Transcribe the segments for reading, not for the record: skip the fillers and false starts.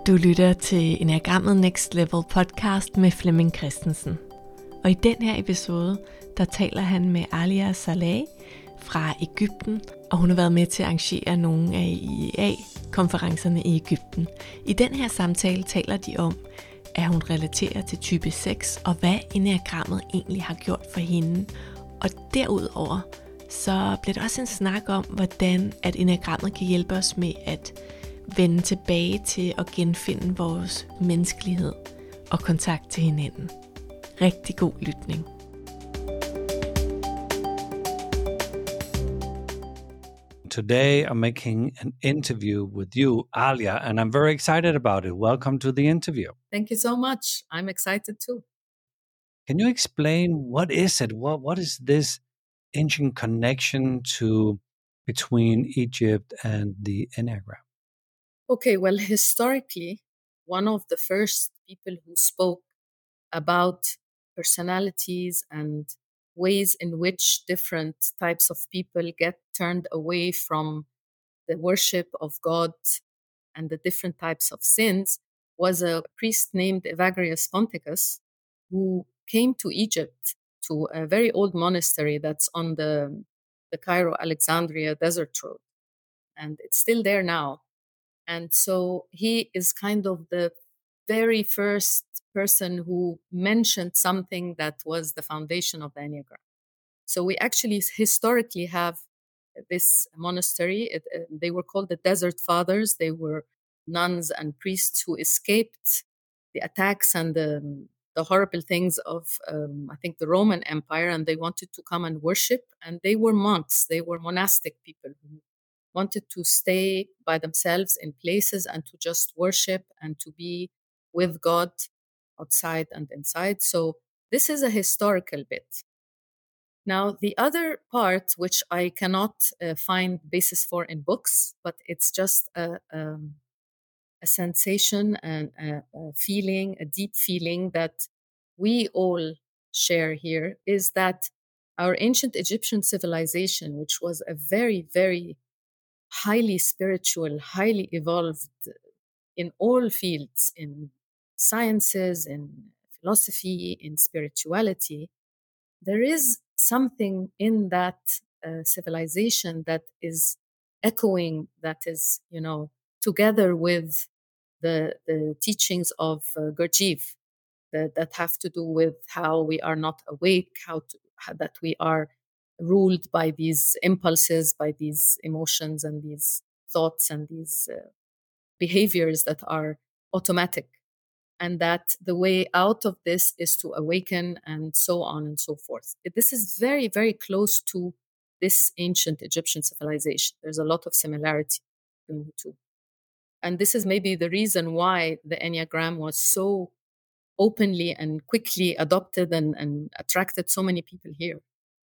Du lytter til Enneagrammet Next Level podcast med Flemming Christensen. Og i den her episode, der taler han med Alia Saleh fra Egypten, og hun har været med til at arrangere nogle af IEA-konferencerne i Egypten. I den her samtale taler de om, at hun relaterer til type 6, og hvad enneagrammet egentlig har gjort for hende. Og derudover, så bliver der også en snak om, hvordan at enneagrammet kan hjælpe os med at vende tilbage til at genfinde vores menneskelighed og kontakt til hinanden. Rigtig god lytning. Today I'm making an interview with you, Alia, and I'm very excited about it. Welcome to the interview. Thank you so much. I'm excited too. Can you explain what is it? What is this ancient connection between Egypt and the Enneagram? Okay, well, historically, one of the first people who spoke about personalities and ways in which different types of people get turned away from the worship of God and the different types of sins was a priest named Evagrius Ponticus, who came to Egypt to a very old monastery that's on the Cairo-Alexandria desert road. And it's still there now. And so he is kind of the very first person who mentioned something that was the foundation of the Enneagram. So we actually historically have this monastery. They were called the Desert Fathers. They were nuns and priests who escaped the attacks and the horrible things of, I think, the Roman Empire, and they wanted to come and worship. And they were monks. They were monastic people who wanted to stay by themselves in places and to just worship and to be with God outside and inside. So this is a historical bit. Now, the other part, which I cannot find basis for in books, but it's just a sensation and a feeling, a deep feeling that we all share here, is that our ancient Egyptian civilization, which was a very, very highly spiritual, highly evolved in all fields, in sciences, in philosophy, in spirituality, there is something in that civilization that is echoing, that is, together with the teachings of Gurdjieff that have to do with how we are not awake, how that we are ruled by these impulses, by these emotions and these thoughts and these behaviors that are automatic. And that the way out of this is to awaken and so on and so forth. This is very, very close to this ancient Egyptian civilization. There's a lot of similarity between the two. And this is maybe the reason why the Enneagram was so openly and quickly adopted and attracted so many people here.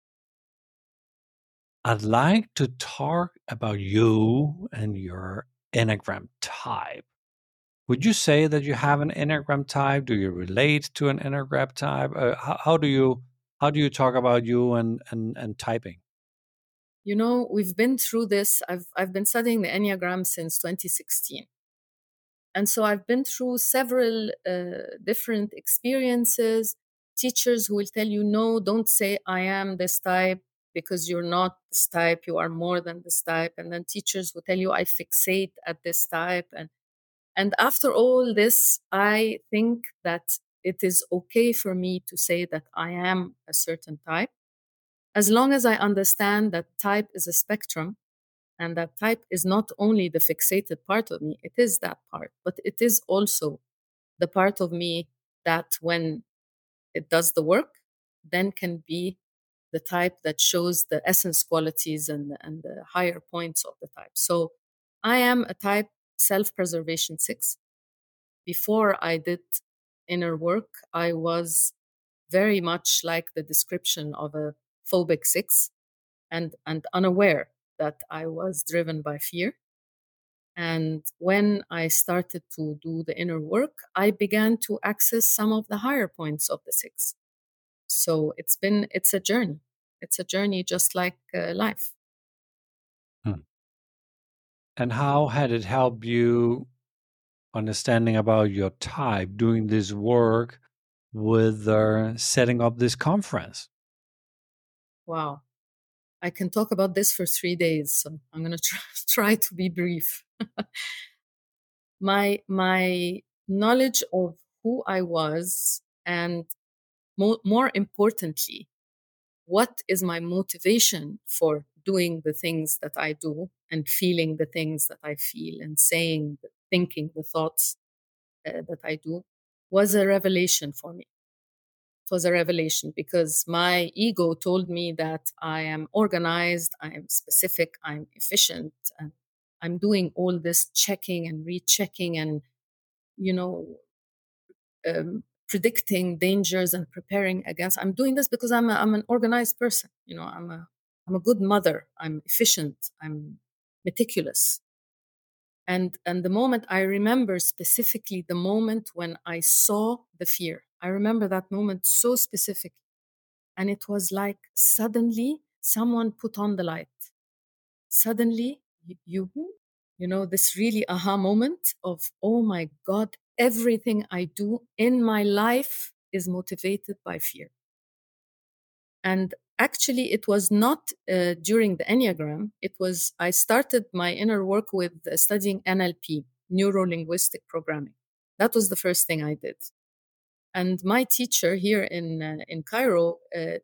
I'd like to talk about you and your Enneagram type. Would you say that you have an Enneagram type? Do you relate to an Enneagram type? How do you talk about you and typing? We've been through this. I've been studying the Enneagram since 2016. And so I've been through several different experiences, teachers who will tell you, no, don't say I am this type because you're not this type, you are more than this type. And then teachers will tell you, I fixate at this type. And after all this, I think that it is okay for me to say that I am a certain type, as long as I understand that type is a spectrum. And that type is not only the fixated part of me, it is that part, but it is also the part of me that when it does the work, then can be the type that shows the essence qualities and the higher points of the type. So I am a type self-preservation 6. Before I did inner work, I was very much like the description of a phobic 6 and unaware that I was driven by fear. And when I started to do the inner work, I began to access some of the higher points of the 6. So it's a journey. It's a journey just like life. And how had it helped you understanding about your type, doing this work with setting up this conference? Wow. I can talk about this for 3 days, so I'm going to try to be brief. My knowledge of who I was, and more importantly, what is my motivation for doing the things that I do and feeling the things that I feel and saying, thinking the thoughts that I do, was a revelation for me. It was a revelation because my ego told me that I am organized, I am specific, I'm efficient, and I'm doing all this checking and rechecking and, you know, predicting dangers and preparing against. I'm doing this because I'm an organized person. I'm a good mother. I'm efficient. I'm meticulous. And the moment, I remember specifically the moment when I saw the fear. I remember that moment so specifically. And it was like suddenly someone put on the light. Suddenly, this really aha moment of, oh my God, everything I do in my life is motivated by fear. And actually, it was not during the Enneagram. I started my inner work with studying NLP, Neuro Linguistic Programming. That was the first thing I did. And my teacher here in Cairo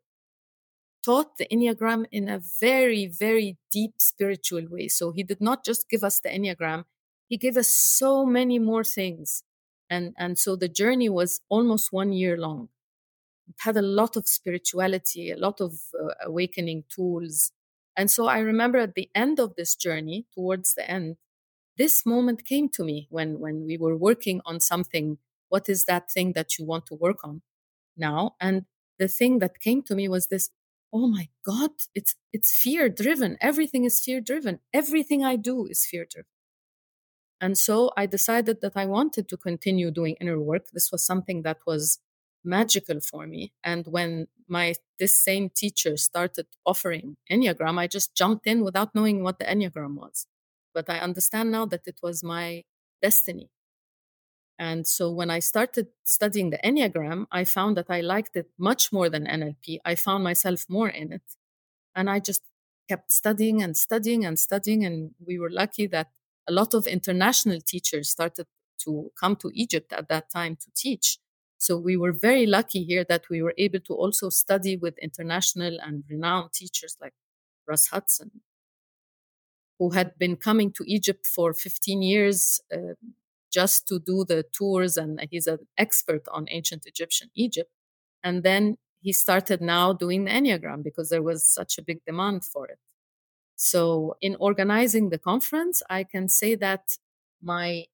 taught the Enneagram in a very, very deep spiritual way. So he did not just give us the Enneagram, he gave us so many more things. And so the journey was almost 1 year long. It had a lot of spirituality, a lot of awakening tools. And so I remember at the end of this journey, towards the end, this moment came to me when we were working on something. What is that thing that you want to work on now? And the thing that came to me was this, oh my God, it's fear driven. Everything is fear driven. Everything I do is fear driven. And so I decided that I wanted to continue doing inner work. This was something that was magical for me. And when this same teacher started offering Enneagram, I just jumped in without knowing what the Enneagram was. But I understand now that it was my destiny. And so when I started studying the Enneagram, I found that I liked it much more than NLP. I found myself more in it. And I just kept studying and studying and studying. And we were lucky that a lot of international teachers started to come to Egypt at that time to teach. So we were very lucky here that we were able to also study with international and renowned teachers like Russ Hudson, who had been coming to Egypt for 15 years just to do the tours. And he's an expert on ancient Egyptian Egypt. And then he started now doing the Enneagram because there was such a big demand for it. So in organizing the conference, I can say that my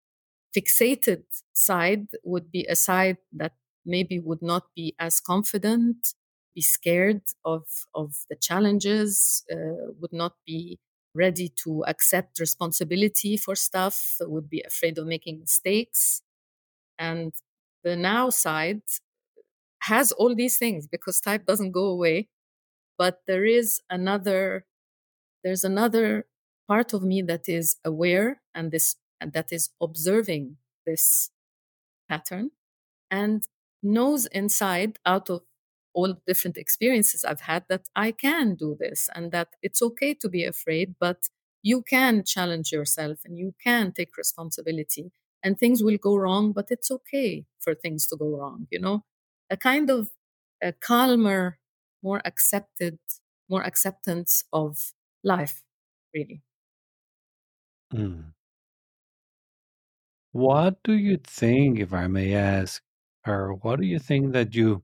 fixated side would be a side that maybe would not be as confident, be scared of the challenges, would not be ready to accept responsibility for stuff, would be afraid of making mistakes. And the now side has all these things because type doesn't go away. But there's another part of me that is aware and that is observing this pattern and knows inside, out of all different experiences I've had, that I can do this and that it's okay to be afraid, but you can challenge yourself and you can take responsibility and things will go wrong, but it's okay for things to go wrong, a kind of a calmer, more acceptance of life, really. Mm. What do you think, if I may ask, or what do you think that you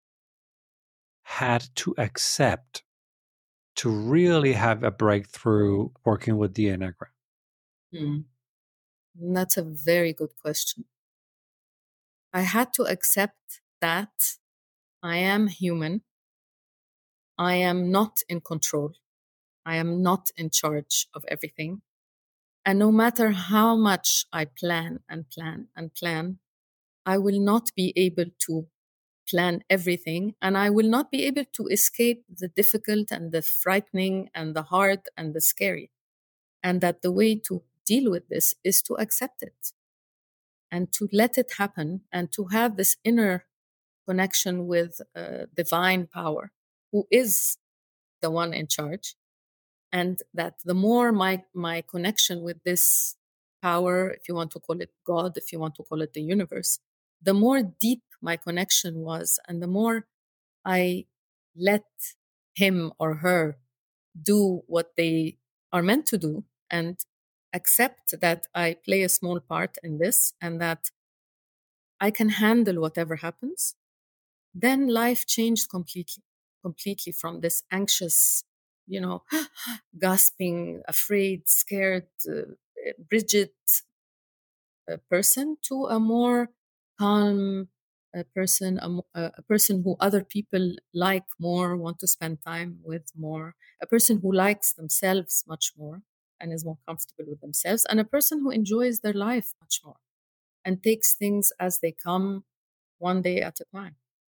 had to accept to really have a breakthrough working with the Enneagram? Mm. That's a very good question. I had to accept that I am human. I am not in control. I am not in charge of everything. And no matter how much I plan and plan and plan, I will not be able to plan everything. And I will not be able to escape the difficult and the frightening and the hard and the scary. And that the way to deal with this is to accept it. and to let it happen, and to have this inner connection with divine power, who is the one in charge. And that the more my connection with this power, if you want to call it God, if you want to call it the universe, the more deep my connection was, and the more I let him or her do what they are meant to do, and accept that I play a small part in this, and that I can handle whatever happens, then life changed completely from this anxious, gasping, afraid, scared, rigid person to a more calm person, a person who other people like more, want to spend time with more, a person who likes themselves much more and is more comfortable with themselves, and a person who enjoys their life much more and takes things as they come, one day at a time.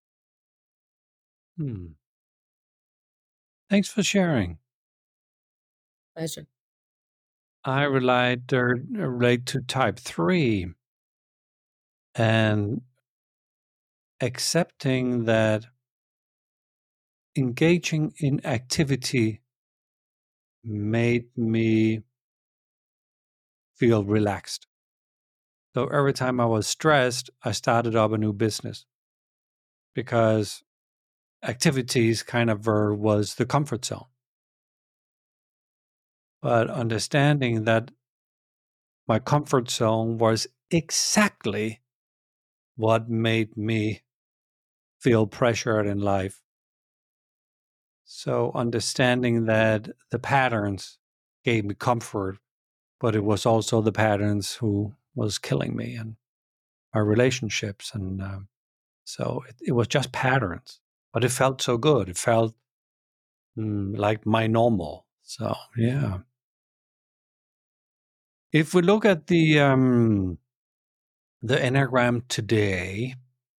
Thanks for sharing. Pleasure. I relate to type 3 and accepting that engaging in activity made me feel relaxed. So every time I was stressed, I started up a new business because activities kind of was the comfort zone. But understanding that my comfort zone was exactly what made me feel pressured in life. So understanding that the patterns gave me comfort, but it was also the patterns who was killing me and our relationships. And so it was just patterns, but it felt so good. It felt like my normal. So, yeah. If we look at the Enneagram today,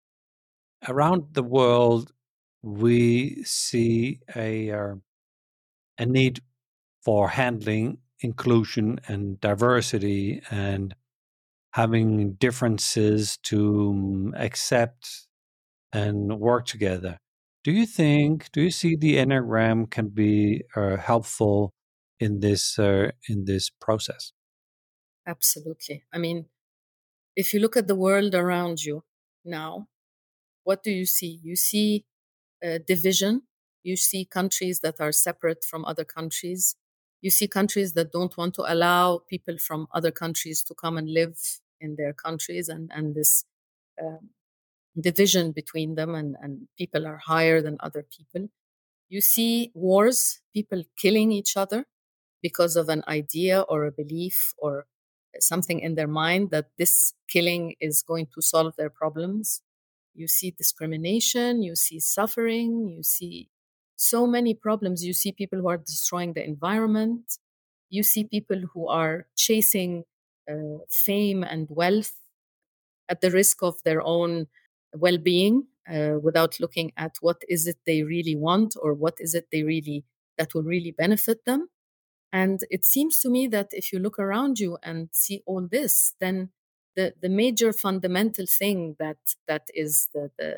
around the world, we see a need for handling inclusion and diversity and having differences to accept and work together. Do you see the Enneagram can be helpful in this process? Absolutely. I mean, if you look at the world around you now, what do you see? You see division. You see countries that are separate from other countries. You see countries that don't want to allow people from other countries to come and live in their countries, and this um, division between them, and people are higher than other people. You see wars, people killing each other because of an idea or a belief or something in their mind that this killing is going to solve their problems. You see discrimination, you see suffering, you see so many problems. You see people who are destroying the environment. You see people who are chasing fame and wealth at the risk of their own well-being, without looking at what is it they really want, or what is it that will really benefit them. And it seems to me that if you look around you and see all this, then the major fundamental thing that is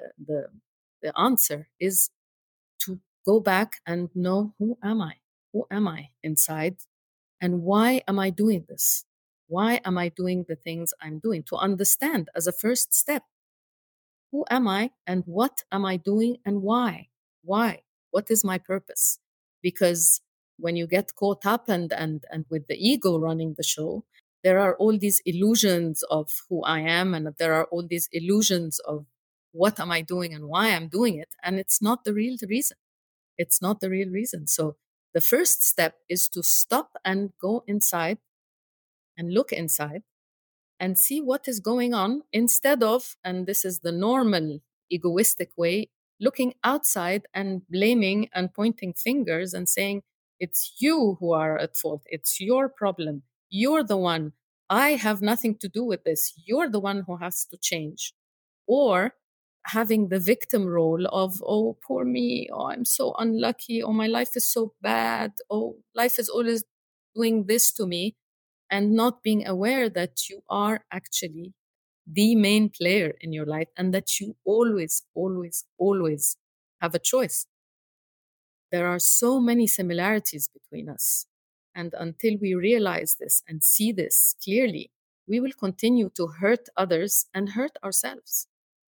the answer is to go back and know, who am I? Who am I inside? And why am I doing this? Why am I doing the things I'm doing? To understand as a first step, who am I and what am I doing and why? Why? What is my purpose? Because when you get caught up and with the ego running the show, there are all these illusions of who I am, and there are all these illusions of what am I doing and why I'm doing it. And it's not the real reason. It's not the real reason. So the first step is to stop and go inside and look inside and see what is going on, instead of, and this is the normal egoistic way, looking outside and blaming and pointing fingers and saying, it's you who are at fault. It's your problem. You're the one. I have nothing to do with this. You're the one who has to change. Or having the victim role of, oh, poor me. Oh, I'm so unlucky. Oh, my life is so bad. Oh, life is always doing this to me. And not being aware that you are actually the main player in your life and that you always, always, always have a choice. There are so many similarities between us. And until we realize this and see this clearly, we will continue to hurt others and hurt ourselves.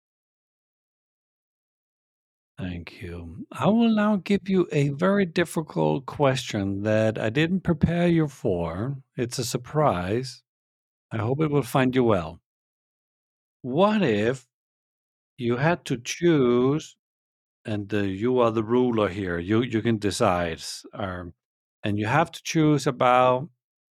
Thank you. I will now give you a very difficult question that I didn't prepare you for. It's a surprise. I hope it will find you well. What if you had to choose, and you are the ruler here, you can decide, and you have to choose about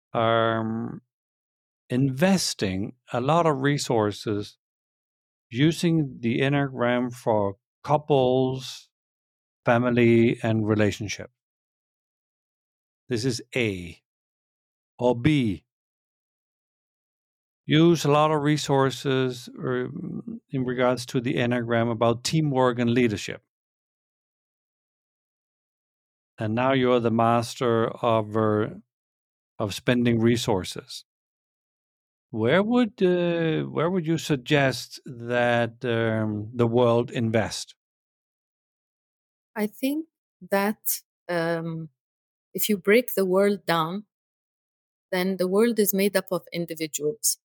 investing a lot of resources using the Enneagram for couples, family, and relationship. This is A. Or B, use a lot of resources in regards to the Enneagram about teamwork and leadership. And now you're the master of spending resources. Where would you suggest that the world invest? I think that if you break the world down, then the world is made up of individuals.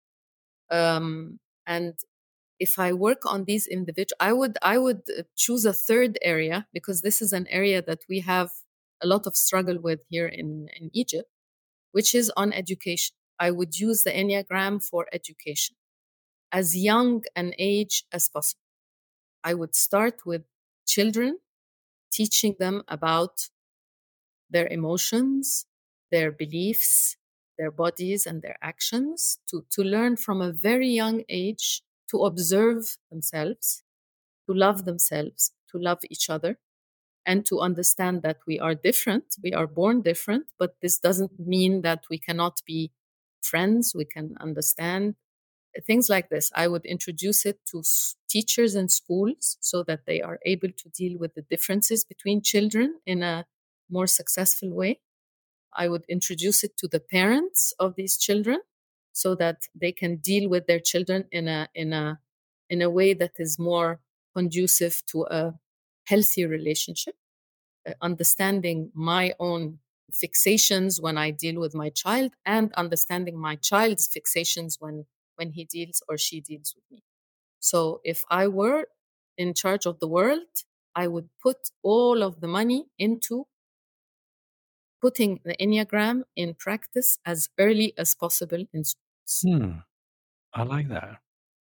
And if I work on these individuals, I would choose a third area, because this is an area that we have a lot of struggle with here in Egypt, which is on education. I would use the Enneagram for education, as young an age as possible. I would start with children, teaching them about their emotions, their beliefs, their bodies, and their actions, to learn from a very young age to observe themselves, to love themselves, to love each other, and to understand that we are different. We are born different, but this doesn't mean that we cannot be friends. We can understand things like this. I would introduce it to teachers in schools so that they are able to deal with the differences between children in a more successful way. I would introduce it to the parents of these children so that they can deal with their children in a way that is more conducive to a healthy relationship, understanding my own fixations when I deal with my child, and understanding my child's fixations when he deals or she deals with me. So if I were in charge of the world, I would put all of the money into putting the Enneagram in practice as early as possible in schools. I like that.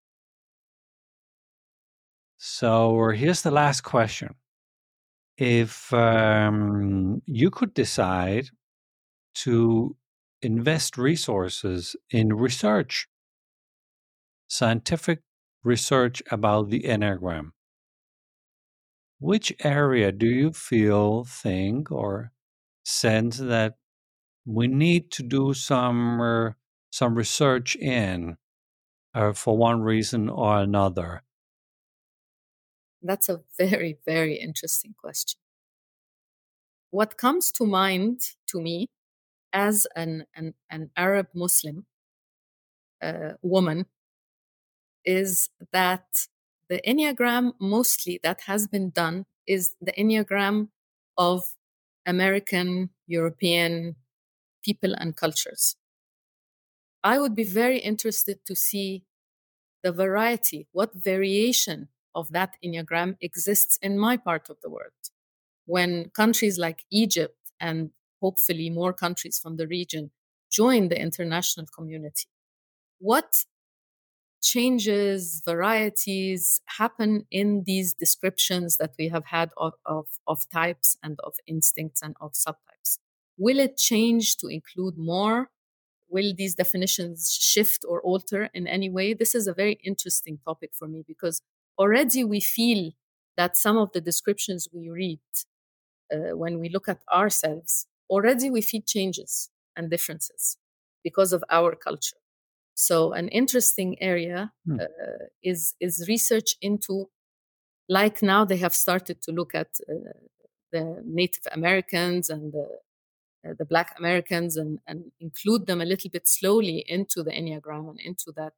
So here's the last question. If you could decide to invest resources in research, scientific research about the Enneagram, which area do you think, or sense that we need to do some research in for one reason or another? That's a very, very interesting question. What comes to mind to me as an Arab Muslim woman is that the Enneagram mostly that has been done is the Enneagram of American, European people and cultures. I would be very interested to see the variety, what variation of that Enneagram exists in my part of the world. When countries like Egypt and hopefully more countries from the region join the international community, what changes, varieties happen in these descriptions that we have had of types and of instincts and of subtypes? Will it change to include more? Will these definitions shift or alter in any way? This is a very interesting topic for me, because already we feel that some of the descriptions we read when we look at ourselves, already we feel changes and differences because of our culture. So an interesting area is research into, like now they have started to look at the Native Americans and the Black Americans and include them a little bit slowly into the Enneagram and into that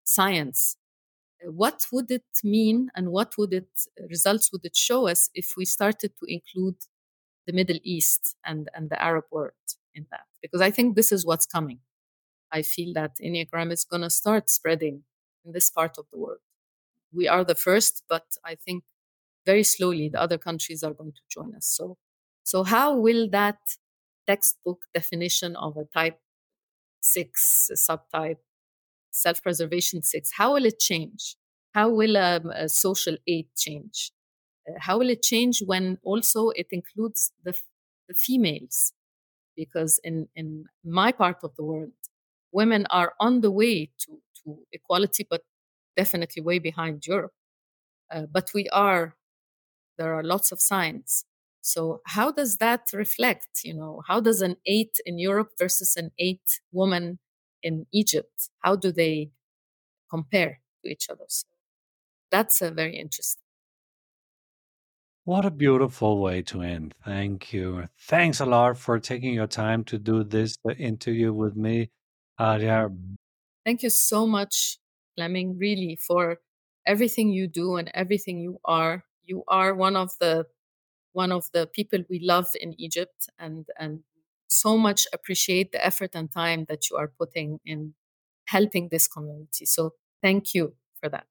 science, what would it mean and what results would it show us if we started to include the Middle East and the Arab world in that? Because I think this is what's coming. I feel that Enneagram is going to start spreading in this part of the world. We are the first, but I think very slowly the other countries are going to join us. So how will that textbook definition of a type 6 subtype, self-preservation 6, how will it change? How will a social 8 change? How will it change when also it includes the females? Because in my part of the world, women are on the way to equality, but definitely way behind Europe. But there are lots of signs. So how does that reflect? How does an 8 in Europe versus an 8 woman in Egypt, how do they compare to each other? So that's very interesting. What a beautiful way to end. Thank you. Thanks a lot for taking your time to do this interview with me, Alia. Thank you so much, Fleming, really, for everything you do and everything you are. You are one of the people we love in Egypt, and so much appreciate the effort and time that you are putting in helping this community. So thank you for that.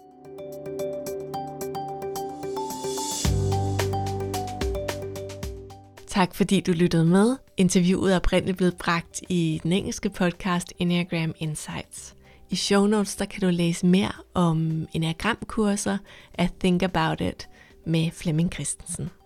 Tak fordi du lyttede med. Interviewet er oprindeligt blevet bragt i den engelske podcast Enneagram Insights. I show notes der kan du læse mere om enneagramkurser at Think About It med Flemming Christensen.